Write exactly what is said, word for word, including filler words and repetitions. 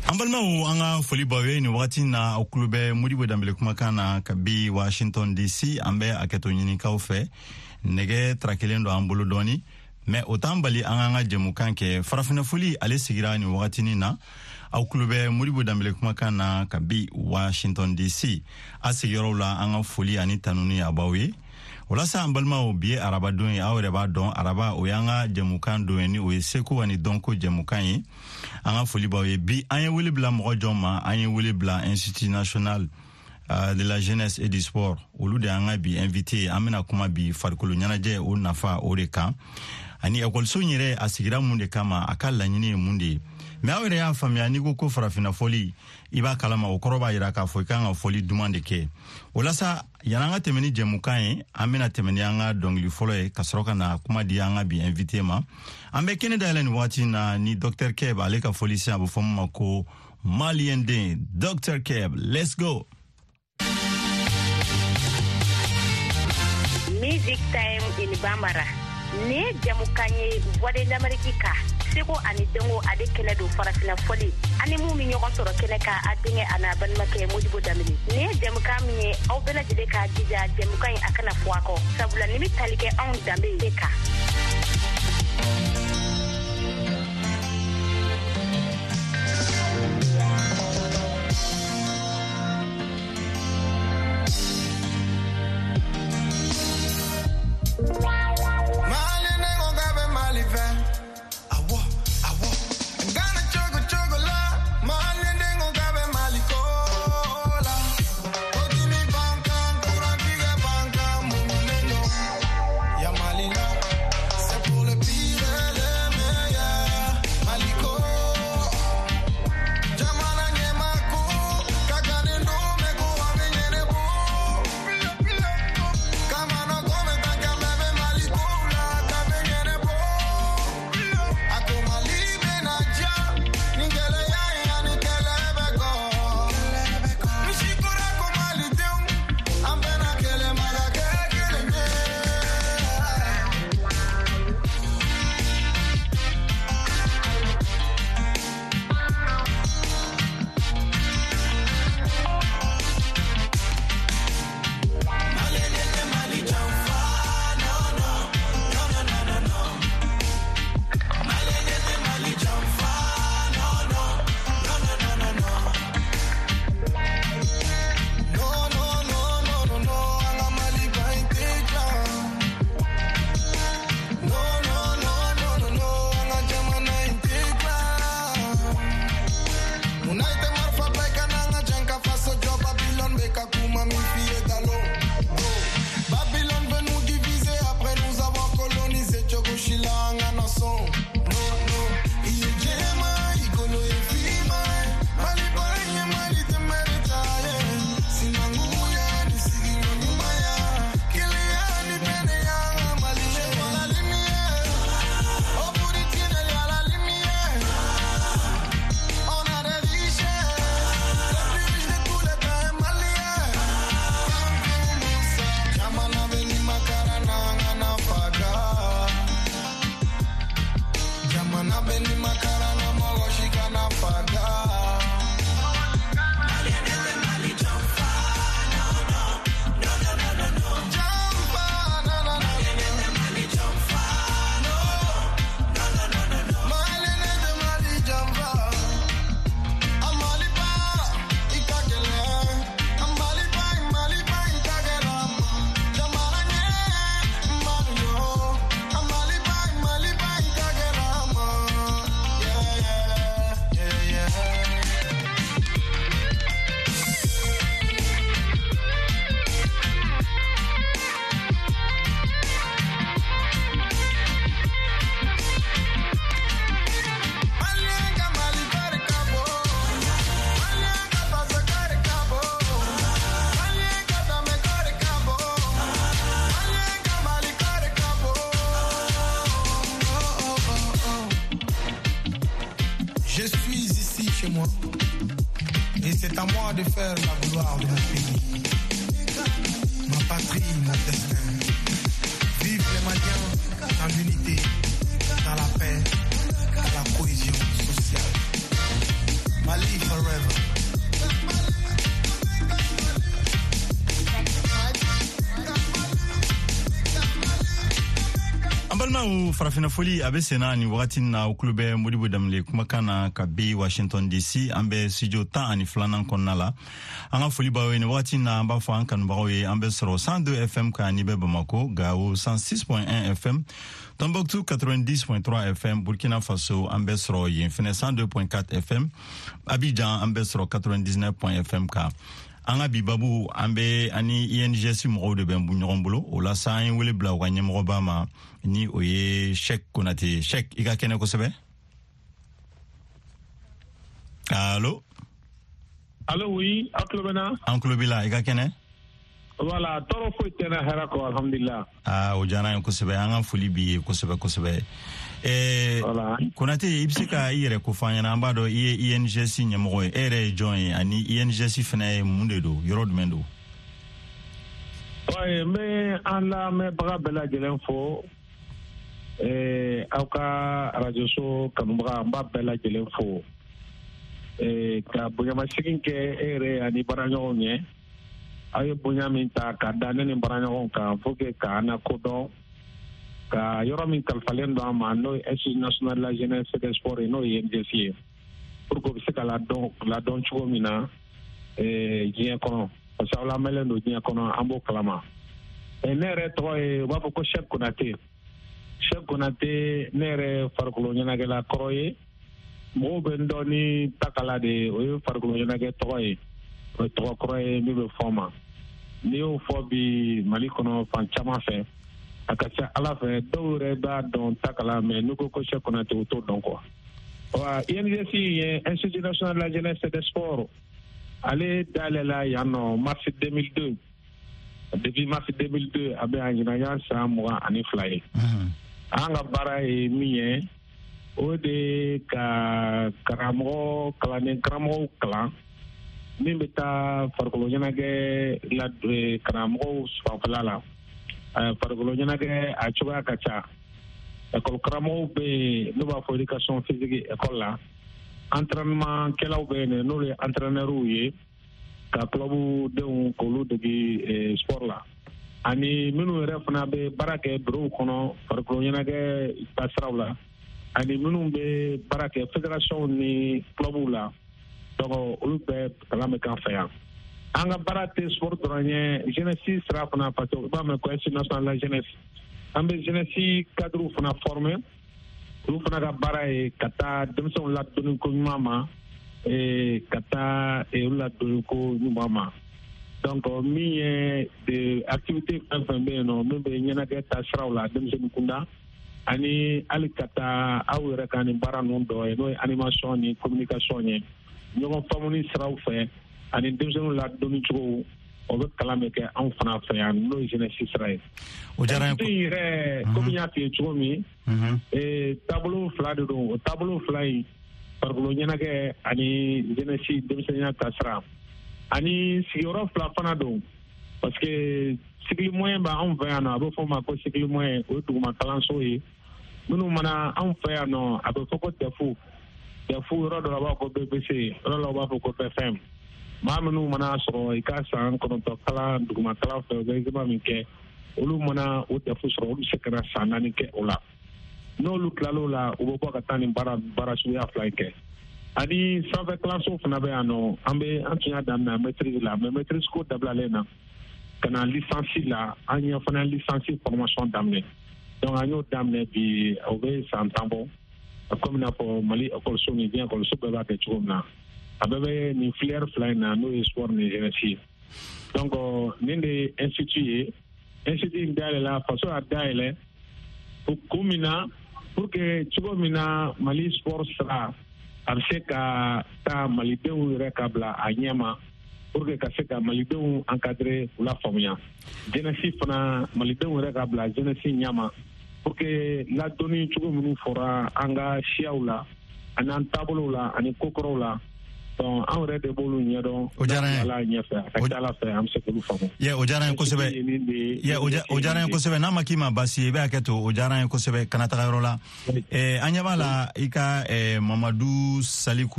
Ambalma u anga foli bawe ni wakati na okulube Modibo Dambele kumakana kabi Washington D C ambe aketo nyini kaufe nege trakelendo ambulu doni me otambali anga jemukan ke farafina foli ale sigira ni wakati ni na okulube Modibo Dambele kumakana kabi Washington D C asigiro la anga foli ani tanuni abawe wala sa ambalma o biye araba don ya awreba don araba o yanga jemukan do ni o seku wani donko jemukan yi anga foli bawe bi anye wuli bla mo joma anye wuli bla Institut National uh, de la Jeunesse et du Sport olu de anga bi invité amena kuma bi farkolo nyanaje o nafa o reka ani ekol so nyire asigira munde kama akalla nyine munde me awre ya famia ni go ko farafina foli iba kalama o koroba ira ka fo kanga foli demande ke wala sa yananga temeni jemukan amena temeni anga dongli folo e kasroka na kuma di anga bi invité ma ambe kene dalen wati na ni Docteur Keb aleka foli sa bo fomma ko Maliende. Docteur Keb, let's go. Music time in Bambara. Ne jamukanye wade namarikika. Seko ani dengo ade kele do farafina foli. Ani mu mi nyoko soro kele ka adinge ana ban make Modibo Dambele. Ne jamukami au bela jide ka dija jamukanye akana fuako. Sabula nimi talike on dambe deka. Et c'est à moi de faire la gloire de mon pays, ma patrie, mon destin. Vive les Maliens dans l'unité, dans la paix, dans la cohésion sociale. Mali. forever. Ambalma u farafina foli abe sena ni wakati na uklube Modibo Damle kumakana kabi Washington D C ambe studio ta ani flanan konnala anga foli bawe ni wakati na amba fo ankan bawe ambe soro cent deux F M ka ni be Bamako Gao cent six point un F M Tombouctou quatre-vingt-dix point trois F M Burkina Faso ambe soro yinfine cent deux point quatre F M Abidjan ambe soro quatre-vingt-dix-neuf point F M ka anga bibabu ambe ani I N G C mo de ben bu nyorombolo o la sa yin wele bla wa nyemro ba ma ni oye Cheikh Konaté Cheikh iga kene ko sebe allo allo oui aklobena anklobila iga kene voilà toro fo tena harako alhamdulillah ah o jana ko sebe anga fuli bi ko sebe ko sebe eh voilà Konaté ibsika ire ko fanya na mbado I N G C nyemro ere join ani I N G C fene munde do yorod mendo ouais mais ala me baga bela jelen fo eh auka radio so kanumba mba bela jelen fo eh ka bunya masikin ke ere ani baranyo nye ayo bunya minta ka danene baranyo ka foke ka na kodo ka yoro min kalfalen do ama no Institut national la jeunesse et des sports no I N G C pour que se kala don la don chuo mina eh jien kono parce que la melen do jien kono ambo klama e nere to e wabo ko Cheikh Konaté Cheikh Konaté nere farkulo nyana gela kroye mo bendo ni takala de o farkulo nyana ge toy o to kroye mi be forma ni o fobi malikono fan chama fe akasa ala fe dowre ba don takala me nuko ko Cheikh Konaté o to don ko wa I N G C Institut national de la jeunesse et des sports ale dalela yano mars deux mille deux depuis mars deux mille deux abe anjina yan sa mo ani fly anga bara e miye o de ka karamo kalane karamo kala min beta farkolo nyana ge la karamo spafala farkolo nyana ge a chuba kacha école karamo be no ba for éducation physique école la entraînement kelaw be ne no le entraîneur uye ka club de un kolu de sport la ani minu refna be barake bro kono farko nyana ge pasrawla ani minu be barake fédération ni club la donc ulu be kala me kan fa anga barate sport dranye jeunesse strafna pato ba me ko Institut national la jeunesse ambe jeunesse cadre fona formé ulu fona ga bara kata demson la donu ko mama e kata e ula donu ko mama donc mi de activité fambe no membe nyana ga tasrawla dem sen kunda ani alikata awere kan bara non do e no animation ni communication ni ñoo famuni sraw fe ani dem sen la donu ko o be kalame ke en fana fe an no jeunesse israël o jara ko ire communauté chomi e tableau fla de do tableau fly par ko nyana ke ani jeunesse dem sen ya tasra ani sigoro fla fana do parce que sigli moyen ba on va na abo foma ko sigli moyen o tu ma kalanso yi munu mana on fa no abo foko tefu tefu ro do ba ko B B C ro lo ba ko F M ma munu mana so ikasa ko to kala du ma kala fe ga ga mi ke olu mana o tefu so olu sekara sanani ke ola no lu klalo la o bo ka tani bara bara su ya fly ke ani save classe of na be ano ambe antia dam na maîtrise la mais maîtrise ko dabla lena kana licence la anya fana licence formation damne donc anyo damne bi obe santambo comme na pour Mali école soni bien école so be ba ke chumna abebe ni flair fly na no sport ni jeunesse donc ninde institut institut dale la façon à dale pour kumina pour que chumina Mali sport sera arse ka ta malidenw yɛrɛ ka bila a ɲɛma pour que ka se ka malidenw encadrer u la faamuya jeunesse fana malidenw yɛrɛ ka bila jeunesse ɲɛma pour que ladonni cogo minnu fɔra an ka siyaw la ani an taabolow la ani kokɔrɔw la donc an yɛrɛ de b'olu ɲɛdɔn o diyara n ye ala ɲɛfɛ a ka ca ala fɛ an bɛ se k'olu faamu ye o diyara n ye kosɛbɛ ye o diyara n ye kosɛbɛ n'a ma k'i ma baasi ye i bɛ hakɛ to o diyara n ye kosɛbɛ kana taga yɔrɔ la an ɲɛ b'a la i ka Mamadu Saliku